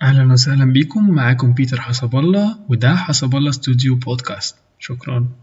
أهلا وسهلا بكم، معاكم بيتر حسب الله، وده حسب الله استوديو بودكاست. شكرا.